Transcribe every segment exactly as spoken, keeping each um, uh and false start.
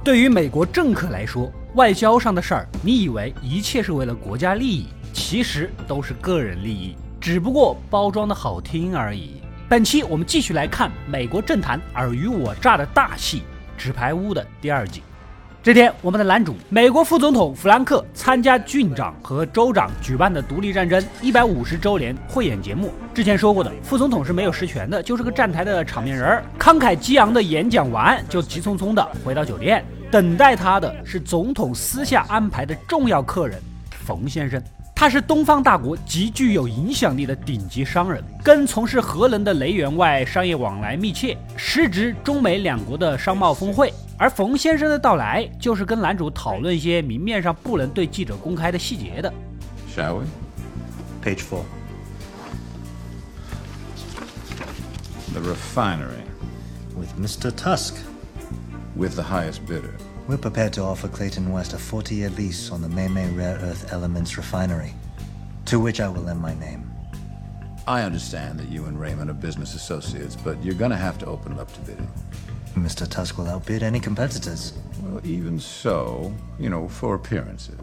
对于美国政客来说，外交上的事儿，你以为一切是为了国家利益，其实都是个人利益，只不过包装的好听而已。本期我们继续来看美国政坛尔虞我诈的大戏《纸牌屋》的第二季。这天，我们的男主美国副总统弗兰克参加郡长和州长举办的独立战争一百五十周年汇演节目。之前说过的，副总统是没有实权的，就是个站台的场面人。慷慨激昂的演讲完，就急匆匆的回到酒店，等待他的是总统私下安排的重要客人冯先生。他是东方大国极具有影响力的顶级商人，跟从事核能的雷员外商业往来密切，时值中美两国的商贸峰会。而冯先生的到来，就是跟男主讨论一些明面上不能对记者公开的细节的。 Shall we? Page four. The refinery. With Mister Tusk. With the highest bidder. We're prepared to offer Clayton West a forty-year lease on the Maymay Rare Earth Elements refinery, to which I will lend my name. I understand that you and Raymond are business associates, but you're gonna have to open it up to bidding. Mister Tusk will outbid any competitors. Well, even so, you know, for appearances.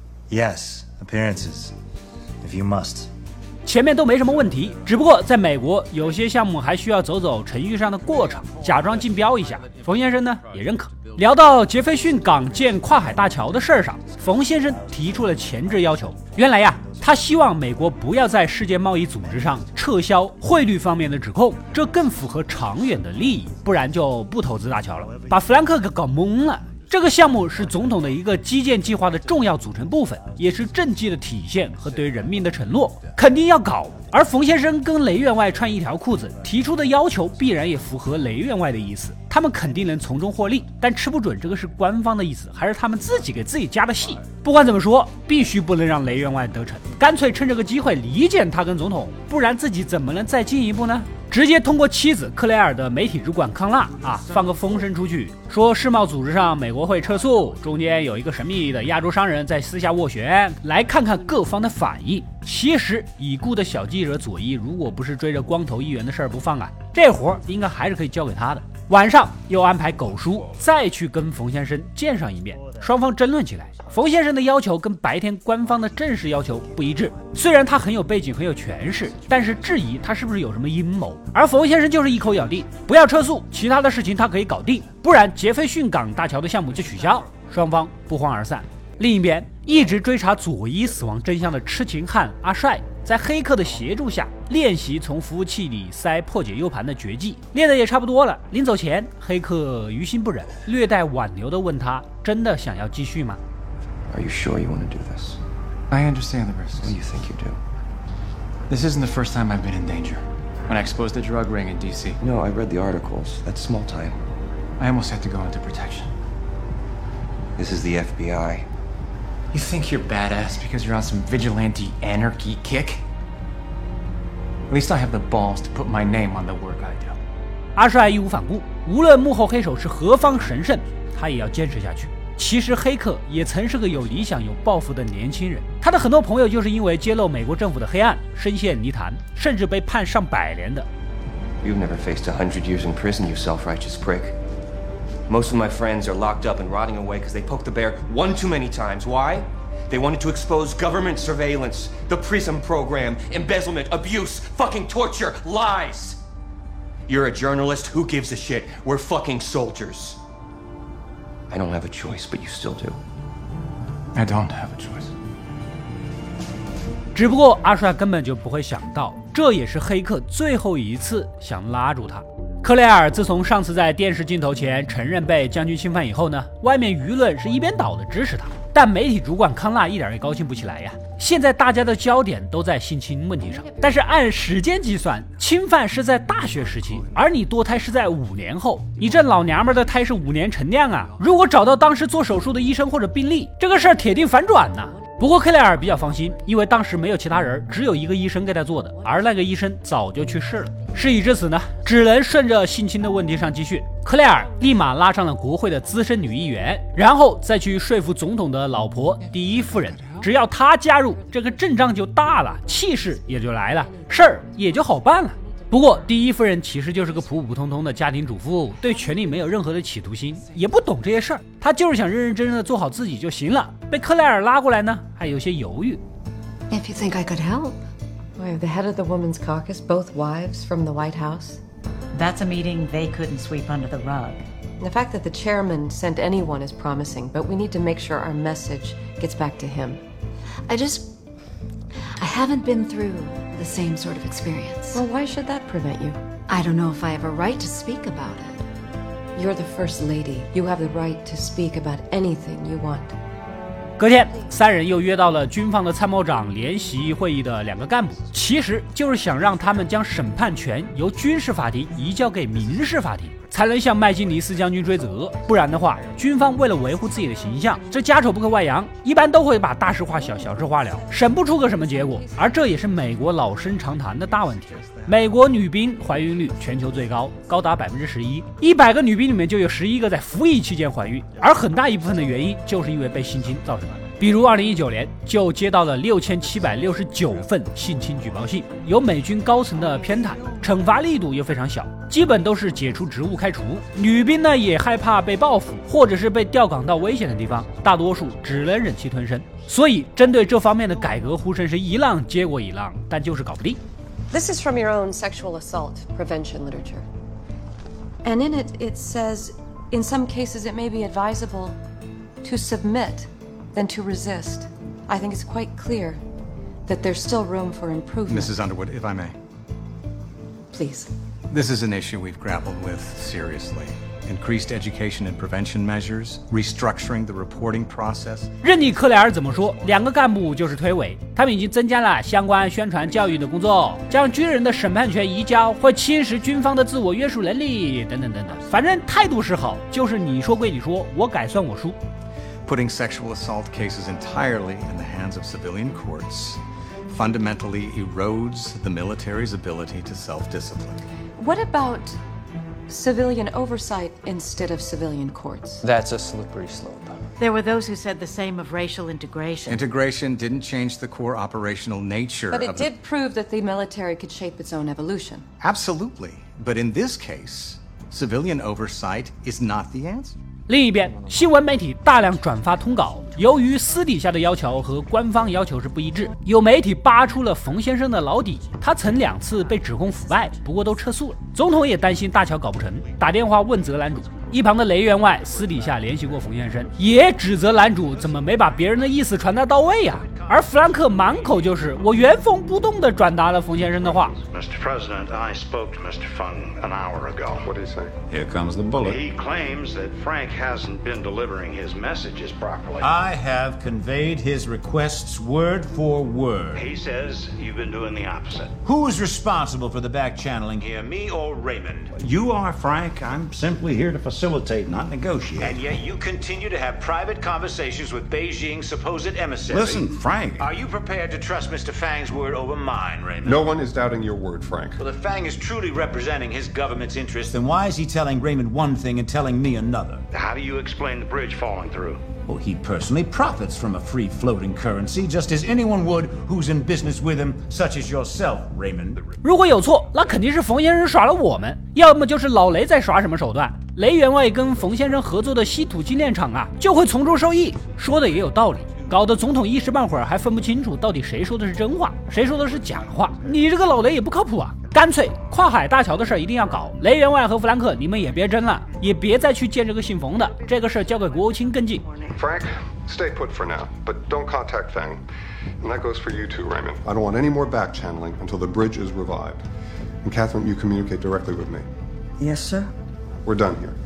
Yes, appearances. If you must. 前面都没什么问题，只不过在美国有些项目还需要走走程序上的过程，假装竞标一下。冯先生呢也认可。聊到杰斐逊港建跨海大桥的事儿上，冯先生提出了前置要求。原来呀，他希望美国不要在世界贸易组织上撤销汇率方面的指控，这更符合长远的利益，不然就不投资大桥了。把弗兰克给搞懵了。这个项目是总统的一个基建计划的重要组成部分，也是政绩的体现和对人民的承诺，肯定要搞。而冯先生跟雷员外穿一条裤子，提出的要求必然也符合雷员外的意思，他们肯定能从中获利，但吃不准这个是官方的意思，还是他们自己给自己加的戏。不管怎么说，必须不能让雷员外得逞，干脆趁这个机会离间他跟总统，不然自己怎么能再进一步呢？直接通过妻子克莱尔的媒体主管康纳啊，放个风声出去，说世贸组织上美国会撤诉，中间有一个神秘的亚洲商人在私下斡旋，来看看各方的反应。其实已故的小记者佐伊，如果不是追着光头议员的事儿不放啊，这活儿应该还是可以交给他的。晚上又安排狗叔再去跟冯先生见上一面，双方争论起来。冯先生的要求跟白天官方的正式要求不一致，虽然他很有背景很有权势，但是质疑他是不是有什么阴谋。而冯先生就是一口咬定不要撤诉，其他的事情他可以搞定，不然杰斐逊港大桥的项目就取消。双方不欢而散。另一边，一直追查佐伊死亡真相的痴情汉阿帅，在黑客的协助下练习从服务器里塞破解 U 盘的绝技，练得也差不多了。临走前，黑客于心不忍，略带挽留地问他：“真的想要继续吗？” Are you sure you want to do this? I understand the risks. What do you think you do? This isn't the first time I've been in danger. When I exposed the drug ring in D C. No, I read the articles. That's small time. I almost had to go into protection. This is the F B I. You think you're badass because you're on some vigilante anarchy kick? At least I have the balls to put my name on the work I do. 阿帅义无反顾，无论幕后黑手是何方神圣，他也要坚持下去。其实黑客也曾是个有理想有抱负的年轻人，他的很多朋友就是因为揭露美国政府的黑暗深陷泥潭，甚至被判上百年的。 You've never faced a hundred years in prison, you self-righteous prick. Most of my friends are locked up and rotting away because they poked the bear one too many times. Why? They wanted to expose government surveillance, the PRISM program, embezzlement, abuse, fucking torture, lies. You're a journalist, who gives a shit? We're fucking soldiers. I don't have a choice, but you still do. I don't have a choice. 只不过阿帅根本就不会想到，这也是黑客最后一次想拉住他。克莱尔自从上次在电视镜头前承认被将军侵犯以后呢，外面舆论是一边倒的支持他，但媒体主管康纳一点也高兴不起来呀。现在大家的焦点都在性侵问题上，但是按时间计算，侵犯是在大学时期，而你堕胎是在五年后，你这老娘们的胎是五年陈酿啊！如果找到当时做手术的医生或者病例，这个事儿铁定反转呐。不过克莱尔比较放心，因为当时没有其他人，只有一个医生给他做的，而那个医生早就去世了。事已至此呢，只能顺着性侵的问题上继续。克莱尔立马拉上了国会的资深女议员，然后再去说服总统的老婆第一夫人，只要她加入，这个阵仗就大了，气势也就来了，事儿也就好办了。 不过第一夫人其实就是个普普通通的家庭主妇，对权力没有任何的企图心，也不懂这些事儿，她就是想认认真真的做好自己就行了。被克莱尔拉过来呢，还有些犹豫。 If you think I could help. Why, the head of the Women's Caucus, both wives from the White House? That's a meeting they couldn't sweep under the rug. The fact that the chairman sent anyone is promising, but we need to make sure our message gets back to him. I just... I haven't been through the same sort of experience. Well, why should that prevent you? I don't know if I have a right to speak about it. You're the First Lady. You have the right to speak about anything you want. 隔天，三人又约到了军方的参谋长联席会议的两个干部，其实就是想让他们将审判权由军事法庭移交给民事法庭，才能向麦金尼斯将军追责。不然的话，军方为了维护自己的形象，这家丑不可外扬，一般都会把大事化小，小事化了，审不出个什么结果。而这也是美国老生常谈的大问题。美国女兵怀孕率全球最高，高达百分之十一，一百个女兵里面就有十一个在服役期间怀孕，而很大一部分的原因就是因为被性侵造成的。比如二零一九年就接到了六千七百六十九份性侵举报信，有美军高层的偏袒，惩罚力度又非常小，基本都是解除职务开除。女兵呢也害怕被报复，或者是被调岗到危险的地方，大多数只能忍气吞声。所以针对这方面的改革呼声是一浪接过一浪，但就是搞不定。 This is from your own sexual assault prevention literature. And in it, it says, in some cases it may be advisable to submit than to resist. I think it's quite clear that there's still room for improvement. Missus Underwood, if I may. Please. This is an issue we've grappled with seriously. Increased education and prevention measures, restructuring the reporting process. 任你克莱尔怎么说，两个干部就是推诿，他们已经增加了相关宣传教育的工作，将军人的审判权移交会侵蚀军方的自我约束能力，等等等等。反正态度是好，就是你说归你说，我改算我输。 Putting sexual assault cases entirely in the hands of civilian courts fundamentally erodes the military's ability to self-discipline. What about civilian oversight instead of civilian courts? That's a slippery slope. There were those who said the same of racial integration. Integration didn't change the core operational nature But it of did the... prove that the military could shape its own evolution. Absolutely. But in this case, civilian oversight is not the answer. 另一边，新闻媒体大量转发通稿，由于私底下的要求和官方要求是不一致，有媒体扒出了冯先生的老底，他曾两次被指控腐败，不过都撤诉了。总统也担心大桥搞不成，打电话问责男主。一旁的雷员外私底下联系过冯先生，也指责男主怎么没把别人的意思传达到位呀、啊。而弗兰克满口就是我原封不动地转达了冯先生的话。 Mister President, I spoke to Mister Fung an hour ago. What did he say? Here comes the bullet. He claims that Frank hasn't been delivering his messages properly. I have conveyed his requests word for word. He says you've been doing the opposite. Who is responsible for the back channeling Here, me or Raymond? You are, Frank. I'm simply here to facilitate, not negotiate. And yet you continue to have private conversations with Beijing's supposed emissary. Listen, Frank. Are you prepared to trust Mister Fang's word over mine, Raymond? No one is doubting your word, Frank. Well, if Fang is truly representing his government's interests, Then why is he telling Raymond one thing and telling me another? how do you explain the bridge falling through? Well, he personally profits from a free floating currency, just as anyone would who's in business with him, such as yourself, Raymond. 如果有错，那肯定是冯先生耍了我们，要么就是老雷在耍什么手段。雷员外跟冯先生合作的稀土精炼厂啊，就会从中受益，说的也有道理。搞得总统一时半会儿还分不清楚到底谁说的是真话，谁说的是假话。你这个老雷也不靠谱啊！干脆跨海大桥的事儿一定要搞。雷员外和弗兰克，你们也别争了，也别再去见这个姓冯的，这个事儿交给国务卿跟进。 Frank, stay put for now, but don't contact Fang. And that goes for you too, Raymond. I don't want any more back channeling until the bridge is revived. And Catherine, you communicate directly with me. Yes, sir. We're done here.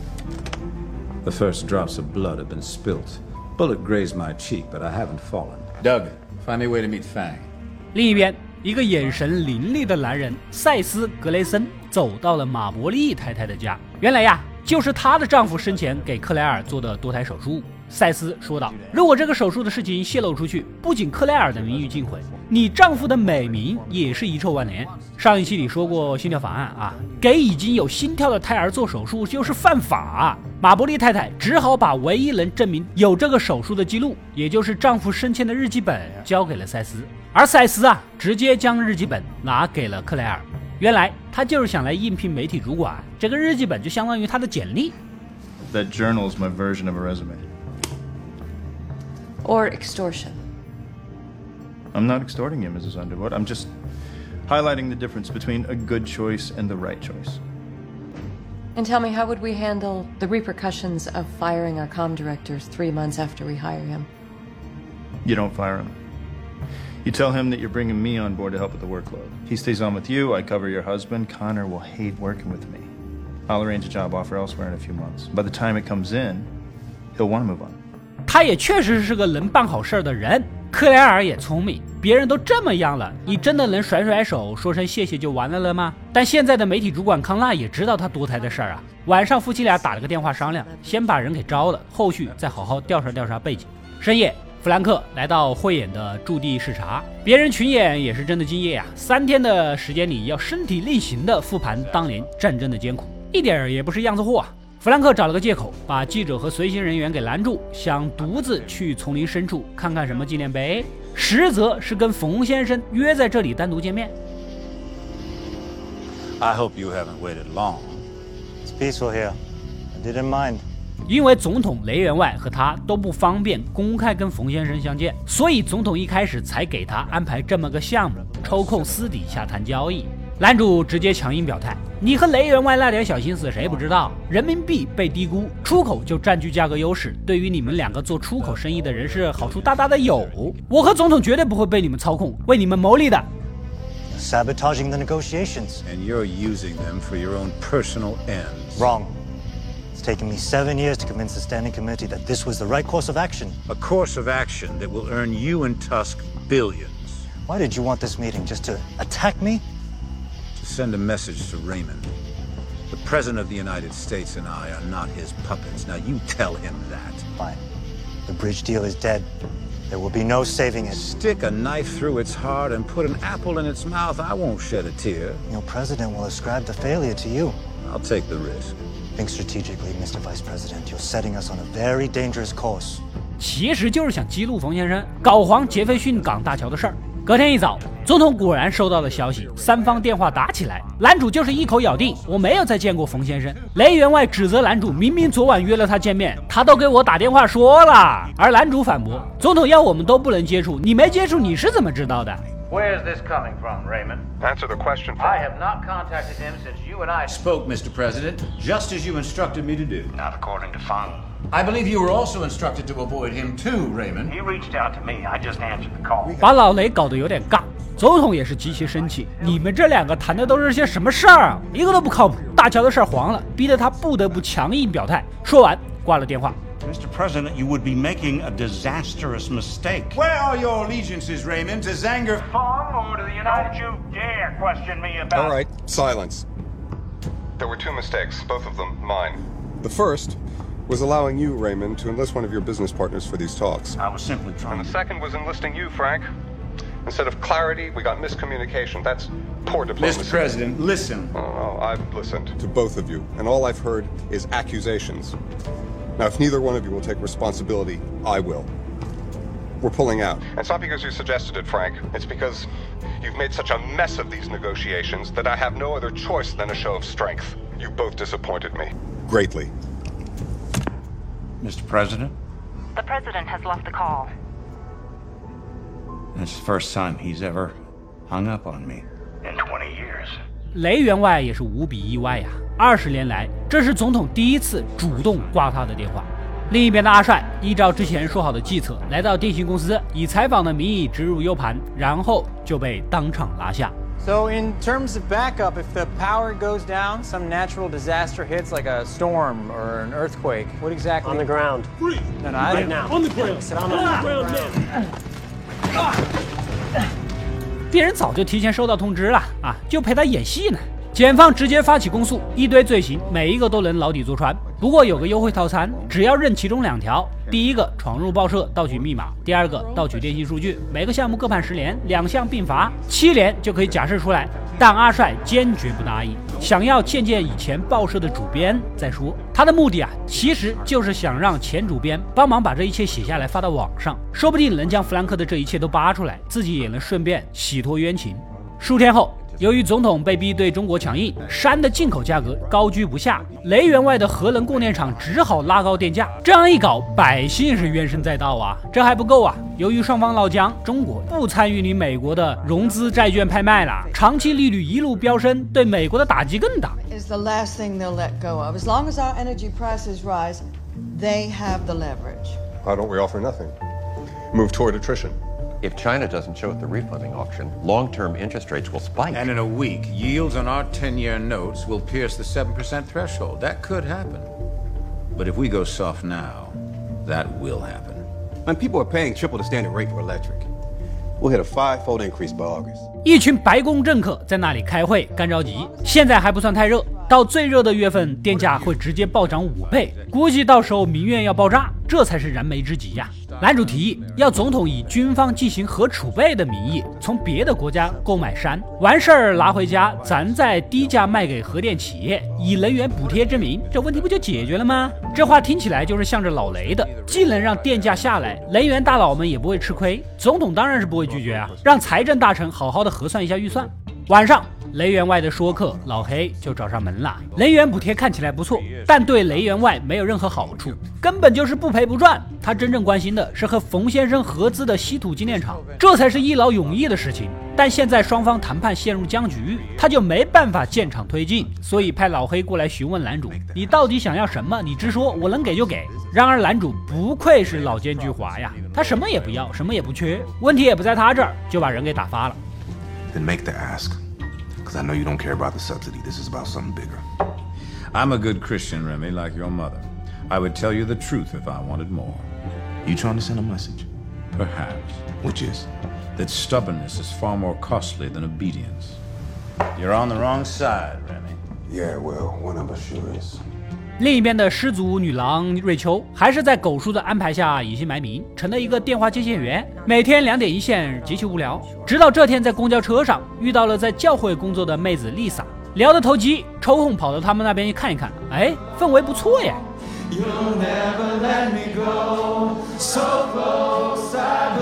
The first drops of blood have been spilt. Bullet grazed my cheek, but I haven't fallen. Doug, find me a way to meet Fang. 另一边，一个眼神凌厉的男人塞斯·格雷森走到了马伯利太太的家。原来呀，就是她的丈夫生前给克莱尔做的堕胎手术。塞斯说道：“如果这个手术的事情泄露出去，不仅克莱尔的名誉尽毁，你丈夫的美名也是遗臭万年。”上一期里说过心跳法案啊，给已经有心跳的胎儿做手术就是犯法啊。马伯利太太只好把唯一能证明有这个手术的记录，也就是丈夫生前的日记本，交给了塞斯。而塞斯啊，直接将日记本拿给了克莱尔。 原来他就是想来应聘媒体主管，这个日记本就相当于他的简历。 That journal is my version of a resume. Or extortion. I'm not extorting you, Missus Underwood. I'm just highlighting the difference between a good choice and the right choice. And tell me, how would we handle the repercussions of firing our comm director three months after we hire him? You don't fire him. You tell him that you're bringing me on board to help with the workload. He stays on with you, I cover your husband. Connor will hate working with me. I'll arrange a job offer elsewhere in a few months. By the time it comes in, he'll want to move on. 他也确实是个能办好事的人。克莱尔也聪明，别人都这么样了，你真的能甩甩手说声谢谢就完了了吗？但现在的媒体主管康纳也知道他堕胎的事儿啊。晚上夫妻俩打了个电话商量，先把人给招了，后续再好好调查调查背景。深夜，弗兰克来到汇演的驻地视察，别人群演也是真的敬业啊，三天的时间里要身体力行的复盘当年战争的艰苦，一点也不是样子货啊。弗兰克找了个借口，把记者和随行人员给拦住，想独自去丛林深处看看什么纪念碑，实则是跟冯先生约在这里单独见面。 I hope you haven't waited long. It's peaceful here. I didn't mind. 因为总统雷员外和他都不方便公开跟冯先生相见，所以总统一开始才给他安排这么个项目，抽空私底下谈交易。男主直接强硬表态，你和雷员外那点小心思谁不知道？人民币被低估，出口就占据价格优势，对于你们两个做出口生意的人是好处大大的有。我和总统绝对不会被你们操控，为你们谋利的。 Sabotaging the negotiations. And you're using them for your own personal ends. Wrong. It's taken me seven years to convince the Standing Committee that this was the right course of action. A course of action that will earn you and Tusk billions. Why did you want this meeting? Just to attack me? To send a message to Raymond. The President of the United States and I are not his puppets. Now you tell him that. Fine. The bridge deal is dead. There will be no saving it. Stick a knife through its heart and put an apple in its mouth. I won't shed a tear. Your president will ascribe the failure to you. I'll take the risk. Think strategically, Mister Vice President. You're setting us on a very dangerous course. 其实就是想激怒冯先生，搞黄杰斐逊港大桥的事儿。隔天一早，总统果然收到了消息，三方电话打起来。男主就是一口咬定我没有再见过冯先生。雷员外指责男主明明昨晚约了他见面，他都给我打电话说了。而男主反驳，总统要我们都不能接触，你没接触你是怎么知道的？ Where's this coming from, Raymond? Answer the question. I have not contacted him since you and I spoke, Mister President, just as you instructed me to do. Not according to Fung. I believe you were also instructed to avoid him too, Raymond. He reached out to me. I just answered the call. 把老雷搞得有点尬，总统也是极其生气。你们这两个谈的都是些什么事儿啊？一个都不靠谱。大乔的事儿黄了，逼得他不得不强硬表态。说完挂了电话。 Mister President, you would be making a disastrous mistake. Where are your allegiances, Raymond? To Zanger Fung or to the United? Don't you dare question me about. All right, silence. There were two mistakes, both of them mine. The first was allowing you, Raymond, to enlist one of your business partners for these talks. I was simply trying. And the second was enlisting you, Frank. Instead of clarity, we got miscommunication. That's poor diplomacy. Mister President, listen. Oh, no, I've listened to both of you, and all I've heard is accusations. Now, if neither one of you will take responsibility, I will. We're pulling out. And it's not because you suggested it, Frank. It's because you've made such a mess of these negotiations that I have no other choice than a show of strength. You both disappointed me. Greatly. Mister President? The President has left the call. It's the first time he's ever hung up on me in twenty years. 雷员外也是无比意外呀、啊！二十年来，这是总统第一次主动挂他的电话。另一边的阿帅依照之前说好的计策，来到电信公司，以采访的名义植入 U 盘，然后就被当场拉下。 So in terms of backup, if the power goes down, some natural disaster hits like a storm or an earthquake, what exactly? On the ground. No, no, I right now. On the ground. Sit on the ground, man. 别人早就提前收到通知了啊，就陪他演戏呢。检方直接发起公诉，一堆罪行，每一个都能牢底坐穿。不过有个优惠套餐，只要认其中两条：第一个闯入报社盗取密码，第二个盗取电信数据，每个项目各判十年，两项并罚，七年就可以假释出来。但阿帅坚决不答应，想要见见以前报社的主编再说。他的目的啊，其实就是想让前主编帮忙把这一切写下来发到网上，说不定能将弗兰克的这一切都扒出来，自己也能顺便洗脱冤情。数天后， 由于总统被逼对中国强硬，山的进口价格高居不下，雷员外的核能供电厂只好拉高电价。这样一搞，百姓是怨声载道啊！这还不够啊！由于双方闹僵，中国不参与你美国的融资债券拍卖了，长期利率一路飙升，对美国的打击更大。 Is the last thing they'll let go of. As long as our energy prices rise, they have the leverage. Why don't we offer nothing? Move toward attrition. If China doesn't show at the refunding auction, long-term interest rates will spike. And in a week, yields on our ten-year notes will pierce the seven percent threshold. That could happen. But if we go soft now, that will happen. And people are paying triple the standard rate for electric. We'll hit a five-fold increase by August. 一群白宫政客在那里开会干着急，现在还不算太热，到最热的月份，电价会直接暴涨五倍，估计到时候民怨要爆炸，这才是燃眉之急呀！男主提议要总统以军方进行核储备的名义，从别的国家购买山，完事儿拿回家，咱再低价卖给核电企业，以能源补贴之名，这问题不就解决了吗？这话听起来就是向着老雷的，既能让电价下来，能源大佬们也不会吃亏，总统当然是不会拒绝啊，让财政大臣好好的核算一下预算。晚上，雷员外的说客老黑就找上门了。能源补贴看起来不错，但对雷员外没有任何好处，根本就是不赔不赚。他真正关心的是和冯先生合资的稀土精炼厂，这才是一劳永逸的事情。但现在双方谈判陷入僵局，他就没办法建厂推进，所以派老黑过来询问男主：“你到底想要什么？你直说，我能给就给。”然而男主不愧是老奸巨猾呀，他什么也不要，什么也不缺，问题也不在他这儿，就把人给打发了。 Then make the ask. Because I know you don't care about the subsidy. This is about something bigger. I'm a good Christian, Remy, like your mother. I would tell you the truth if I wanted more. You trying to send a message? Perhaps. Which is? That stubbornness is far more costly than obedience. You're on the wrong side, Remy. Yeah, well, one of us sure is. 另一边的失足女郎瑞秋还是在狗叔的安排下隐姓埋名，成了一个电话接线员，每天两点一线，极其无聊。直到这天在公交车上遇到了在教会工作的妹子丽萨，聊得投机，抽空跑到他们那边看一看，哎，氛围不错耶。You'll never let me go, so close, I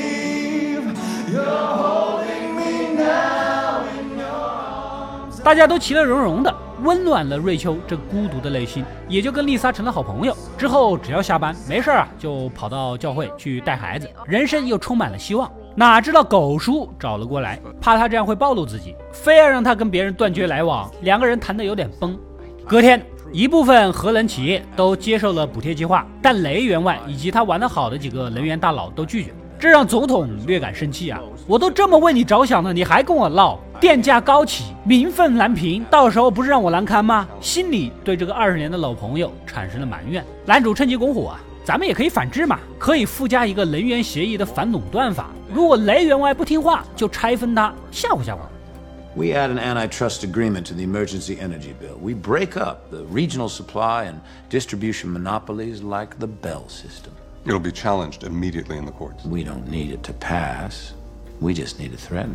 believe you're holding me now in your arms. 大家都其乐融融的，温暖了瑞秋这孤独的内心，也就跟丽莎成了好朋友。之后只要下班没事啊，就跑到教会去带孩子，人生又充满了希望。哪知道狗叔找了过来，怕他这样会暴露自己，非要让他跟别人断绝来往，两个人谈得有点崩。隔天，一部分核能企业都接受了补贴计划，但雷员外以及他玩得好的几个能源大佬都拒绝，这让总统略感生气啊！我都这么为你着想了，你还跟我闹，电价高企，民愤难平，到时候不是让我难堪吗？心里对这个二十年的老朋友产生了埋怨。男主趁机拱火啊，咱们也可以反制嘛，可以附加一个能源协议的反垄断法，如果雷员外不听话，就拆分他，吓唬吓唬。 We add an antitrust agreement to the emergency energy bill. We break up the regional supply and distribution monopolies like the Bell system. It'll be challenged immediately in the courts. We don't need it to pass. We just need to threaten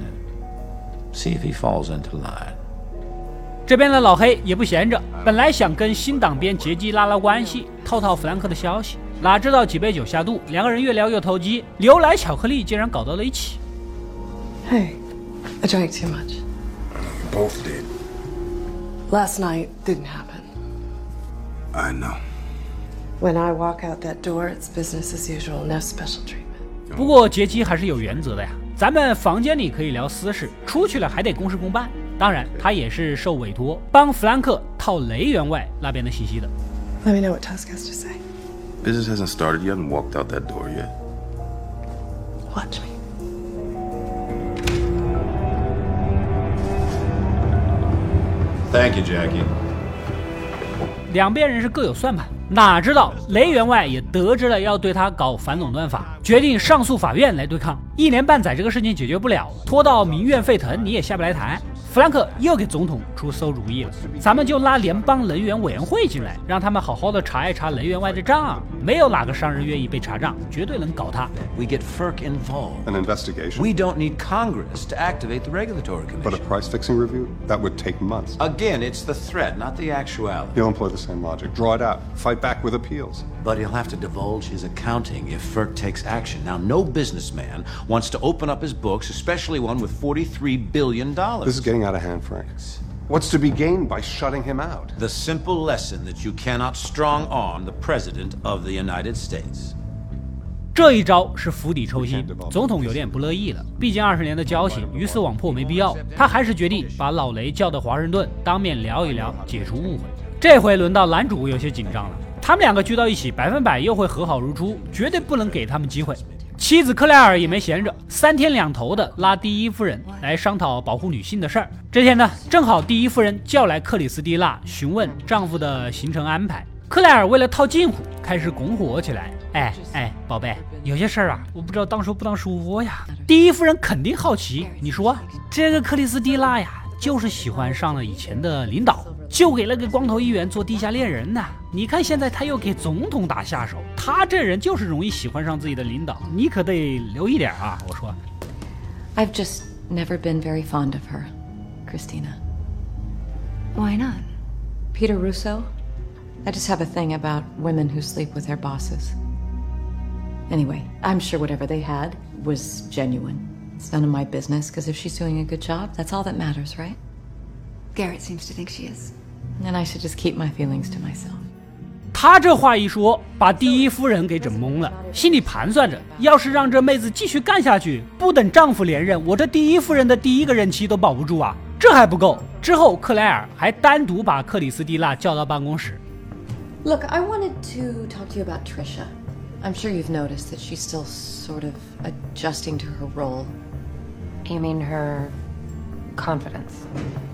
it. See if he falls into line. 这边的老黑也不闲着，本来想跟新党边杰基拉拉关系，套套弗兰克的消息，哪知道几杯酒下肚，两个人越聊越投机，牛奶巧克力竟然搞到了一起。 Hey, I drank too much. Both did. Last night didn't happen. I know. When I walk out that door, it's business as usual, no special treatment. 不过杰基还是有原则的呀，咱们房间里可以聊私事，出去了还得公事公办。当然，他也是受委托帮弗兰克套雷员外那边的信息的。 Let me know what Tusk has to say. Business hasn't started. You haven't walked out that door yet. Watch me. Thank you, Jackie. 两边人是各有算盘，哪知道雷员外也得知了要对他搞反垄断法，决定上诉法院来对抗。一年半载这个事情解决不了，拖到民怨沸腾，你也下不来台。弗兰克又给总统出馊主意了，咱们就拉联邦能源委员会进来，让他们好好的查一查雷员外的账， 没有哪个商人愿意被查账，绝对能搞他。 We get F E R C involved. An investigation? We don't need Congress to activate the regulatory commission. But a price-fixing review? That would take months. Again, it's the threat, not the actuality. He'll employ the same logic. Draw it out. Fight back with appeals. But he'll have to divulge his accounting if F E R C takes action. Now, no businessman wants to open up his books, especially one with forty-three billion dollars. This is getting out of hand, Frank. What's to be gained by shutting him out? The simple lesson that you cannot strong arm the President of the United States. 这一招是釜底抽薪，总统有点不乐意了。毕竟二十年的交情，鱼死网破没必要。他还是决定把老雷叫到华盛顿，当面聊一聊，解除误会。这回轮到男主有些紧张了，他们两个聚到一起，百分百又会和好如初，绝对不能给他们机会。妻子克莱尔也没闲着，三天两头的拉第一夫人来商讨保护女性的事儿。这天呢，正好第一夫人叫来克里斯蒂娜询问丈夫的行程安排。克莱尔为了套近乎，开始拱火起来。哎哎，宝贝，有些事儿啊，我不知道当说不当说呀。第一夫人肯定好奇，你说这个克里斯蒂娜呀，就是喜欢上了以前的领导，就给了个光头议员做地下恋人呢。你看现在他又给总统打下手，他这人就是容易喜欢上自己的领导，你可得留一点啊！我说 I've just never been very fond of her, Christina. Why not? Peter Russo? I just have a thing about women who sleep with their bosses. Anyway, I'm sure whatever they had was genuine. It's none of my business, because if she's doing a good job, that's all that matters, right? Garrett seems to think she is. And I should just keep my feelings to myself. 他这话一说，把第一夫人给整懵了，心里盘算着，要是让这妹子继续干下去，不等丈夫连任，我这第一夫人的第一个任期都保不住啊！这还不够，之后克莱尔还单独把克里斯蒂娜叫到办公室。 Look, I wanted to talk to you about Trisha. I'm sure you've noticed that she's still sort of adjusting to her role. You mean her confidence?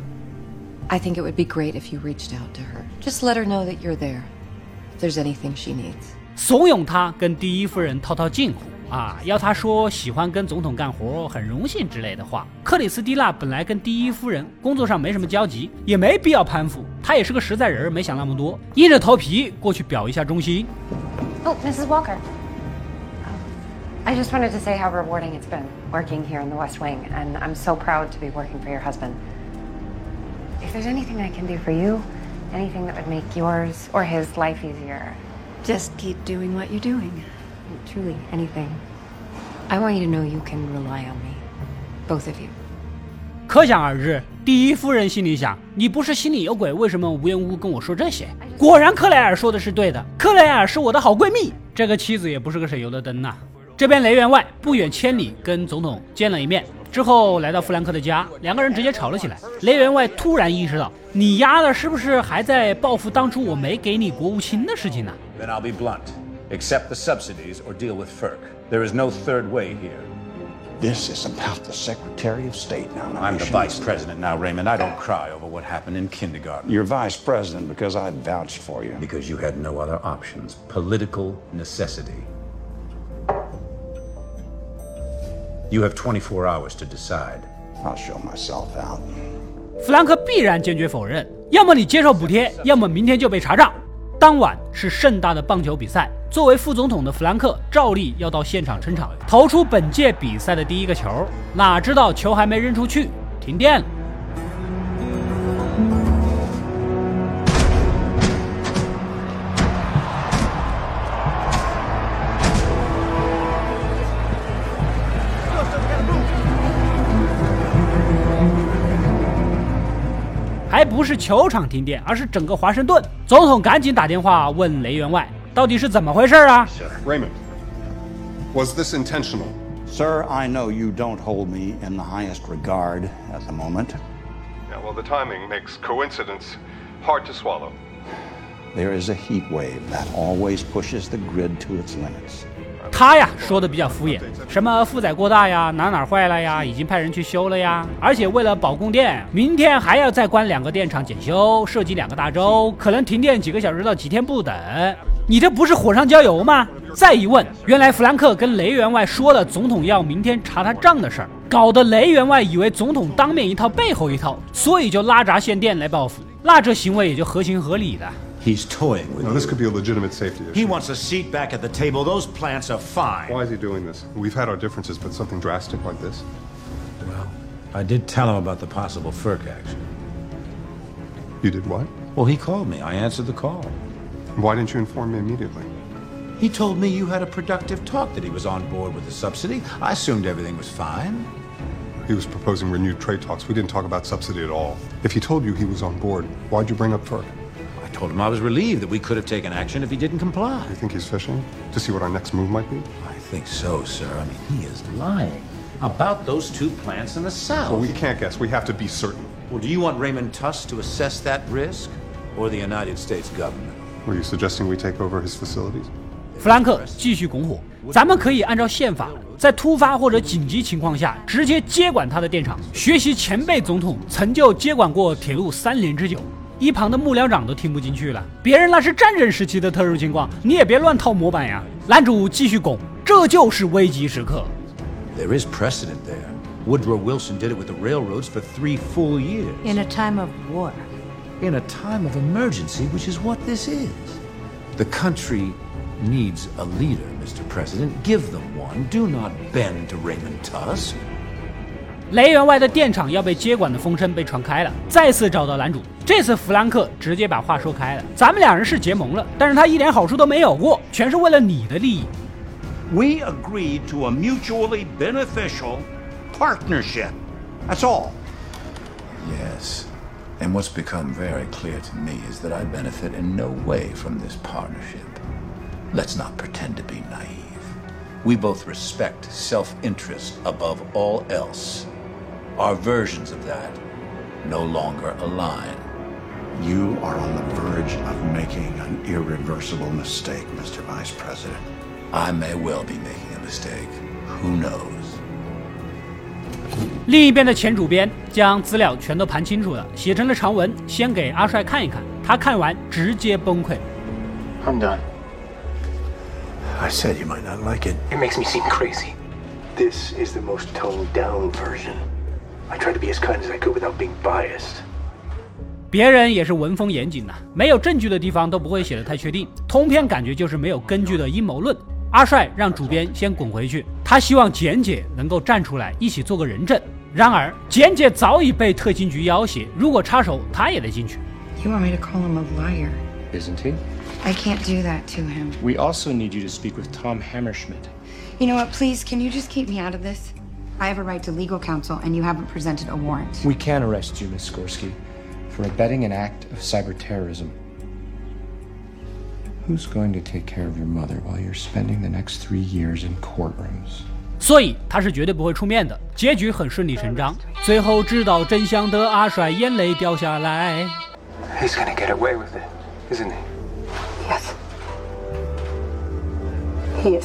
I think it would be great if you reached out to her. Just let her know that you're there. If there's anything she needs. 怂恿她跟第一夫人套套近乎啊，要她说喜欢跟总统干活，很荣幸之类的话。克里斯蒂娜本来跟第一夫人工作上没什么交集，也没必要攀附。她也是个实在人，没想那么多，硬着头皮过去表一下忠心。 Oh, Missus Walker. I just wanted to say how rewarding it's been working here in the West Wing, and I'm so proud to be working for your husband. If there's anything I can do for you, anything that would make yours or his life easier, just keep doing what you're doing. Truly, anything. I want you to know you can rely on me, both of you. 可想而知，第一夫人心里想：你不是心里有鬼，为什么无缘无故跟我说这些？果然，克莱尔说的是对的。克莱尔是我的好闺蜜，这个妻子也不是个省油的灯呐、啊。这边雷员外不远千里跟总统见了一面，之后来到弗兰克的家，两个人直接吵了起来。雷员外突然意识到，你丫的是不是还在报复当初我没给你国务卿的事情呢 ？Then I'll be blunt. Accept the subsidies or deal with F E R C. There is no third way here. This is about the Secretary of State now. I'm the Vice President now, Raymond. I don't cry over what happened in kindergarten. You're Vice President because I vouched for you. Because you had no other options. Political necessity. You have twenty-four hours to decide. I'll show myself out. 弗兰克必然坚决否认，要么你接受补贴，要么明天就被查账。当晚是盛大的棒球比赛，作为副总统的弗兰克照例要到现场撑场，投出本届比赛的第一个球。哪知道球还没扔出去，停电了。还不是球场停电，而是整个华盛顿。总统赶紧打电话问雷员外，到底是怎么回事啊 ？Raymond, was this intentional? Sir, I know you don't hold me in the highest regard at the moment. Yeah, well, the timing makes coincidence hard to swallow. There is a heat wave that always pushes the grid to its limits. 他呀说的比较敷衍，什么负载过大呀，哪哪坏了呀，已经派人去修了呀，而且为了保供电，明天还要再关两个电厂检修，涉及两个大洲，可能停电几个小时到几天不等。你这不是火上浇油吗？再一问，原来弗兰克跟雷员外说了总统要明天查他账的事儿，搞得雷员外以为总统当面一套背后一套，所以就拉闸限电来报复。 那这行为也就合情合理的。 He's toying with No, you. this could be a legitimate safety issue. He wants a seat back at the table. Those plants are fine. Why is he doing this? We've had our differences, but something drastic like this? Well, I did tell him about the possible F E R C action. You did what? Well, he called me. I answered the call. Why didn't you inform me immediately? He told me you had a productive talk, that he was on board with the subsidy. I assumed everything was fine. He was proposing renewed trade talks. We didn't talk about subsidy at all. If he told you he was on board, why'd you bring up F E R C? I told him I was relieved that we could have taken action if he didn't comply. You think he's fishing? To see what our next move might be? I think so, sir. I mean, he is lying about those two plants in the south. Well, we can't guess. We have to be certain. Well, do you want Raymond Tuss to assess that risk, or the United States government? Were you suggesting we take over his facilities? 弗兰克继续拱火，咱们可以按照宪法，在突发或者紧急情况下直接接管他的电厂，学习前辈总统曾就接管过铁路三年之久。一旁的幕僚长都听不进去了，别人那是战争时期的特殊情况，你也别乱套模板呀。男主继续拱，这就是危急时刻。 There is precedent there. Woodrow Wilson did it with the railroads for three full years. In a time of war. In a time of emergency, which is what this is. The country needs a leader, Mister President. Give them one. Do not bend to Raymond Tuss. 雷员外的电厂要被接管的风声被传开了，再次找到男主。这次弗兰克直接把话说开了，咱们两人是结盟了，但是他一点好处都没有过，全是为了你的利益。 We agreed to a mutually beneficial partnership. That's all. Yes. And what's become very clear to me is that I benefit in no way from this partnership. Let's not pretend to be naive. We both respect self-interest above all else. Our versions of that no longer align. You are on the verge of making an irreversible mistake, Mister Vice President. I may well be making a mistake. Who knows? 另一边的前主编将资料全都盘清楚了，写成了长文，先给阿帅看一看。他看完直接崩溃。 I'm done. I said you might not like it. It makes me seem crazy. This is the most toned down version. I tried to be as kind as I could without being biased. 别人也是文风严谨呐、啊，没有证据的地方都不会写得太确定，通篇感觉就是没有根据的阴谋论。阿帅让主编先滚回去，他希望简姐能够站出来一起做个人证。然而简姐早已被特勤局要挟，如果插手他也得进去。 You want me to call him a liar? Isn't he? I can't do that to him. We also need you to speak with Tom Hammerschmidt. You know what, please, can you just keep me out of this? I have a right to legal counsel and you haven't presented a warrant. We can arrest you, Miss Skorsky, for abetting an act of cyber terrorism. Who's going to take care of your mother while you're spending the next three years in courtrooms? 所以他是绝对不会出面的，结局很顺理成章。最后知道真相的阿帅眼泪掉下来。 He's gonna get away with it, isn't he? Yes. He is.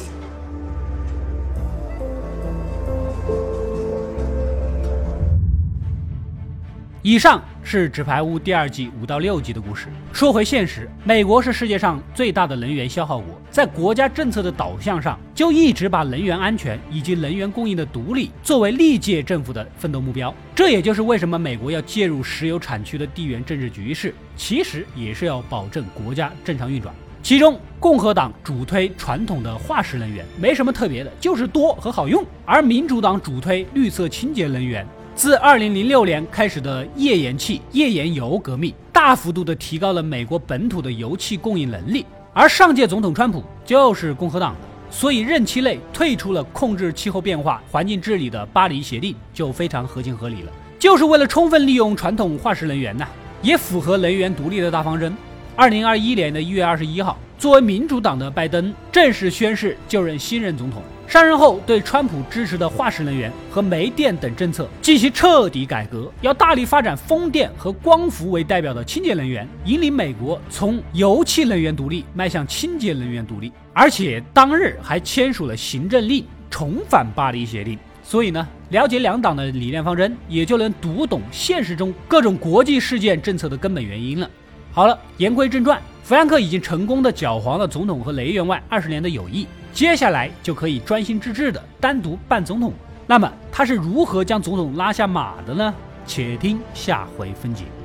以上是《纸牌屋》第二季五到六集的故事。说回现实，美国是世界上最大的能源消耗国，在国家政策的导向上，就一直把能源安全以及能源供应的独立作为历届政府的奋斗目标。这也就是为什么美国要介入石油产区的地缘政治局势，其实也是要保证国家正常运转。其中，共和党主推传统的化石能源，没什么特别的，就是多和好用；而民主党主推绿色清洁能源。 自二零零六年开始的页岩气、页岩油革命，大幅度地提高了美国本土的油气供应能力。而上届总统川普就是共和党的，所以任期内退出了控制气候变化、环境治理的巴黎协定，就非常合情合理了。就是为了充分利用传统化石能源呐、啊，也符合能源独立的大方针。二零二一年的一月二十一号，作为民主党的拜登正式宣誓就任新任总统。 上任后，对川普支持的化石能源和煤电等政策进行彻底改革，要大力发展风电和光伏为代表的清洁能源，引领美国从油气能源独立迈向清洁能源独立。而且当日还签署了行政令，重返巴黎协定。所以呢，了解两党的理念方针，也就能读懂现实中各种国际事件政策的根本原因了。好了，言归正传，弗兰克已经成功的搅黄了总统和雷员外二十年的友谊。 接下来就可以专心致志的单独办总统。那么他是如何将总统拉下马的呢？且听下回分解。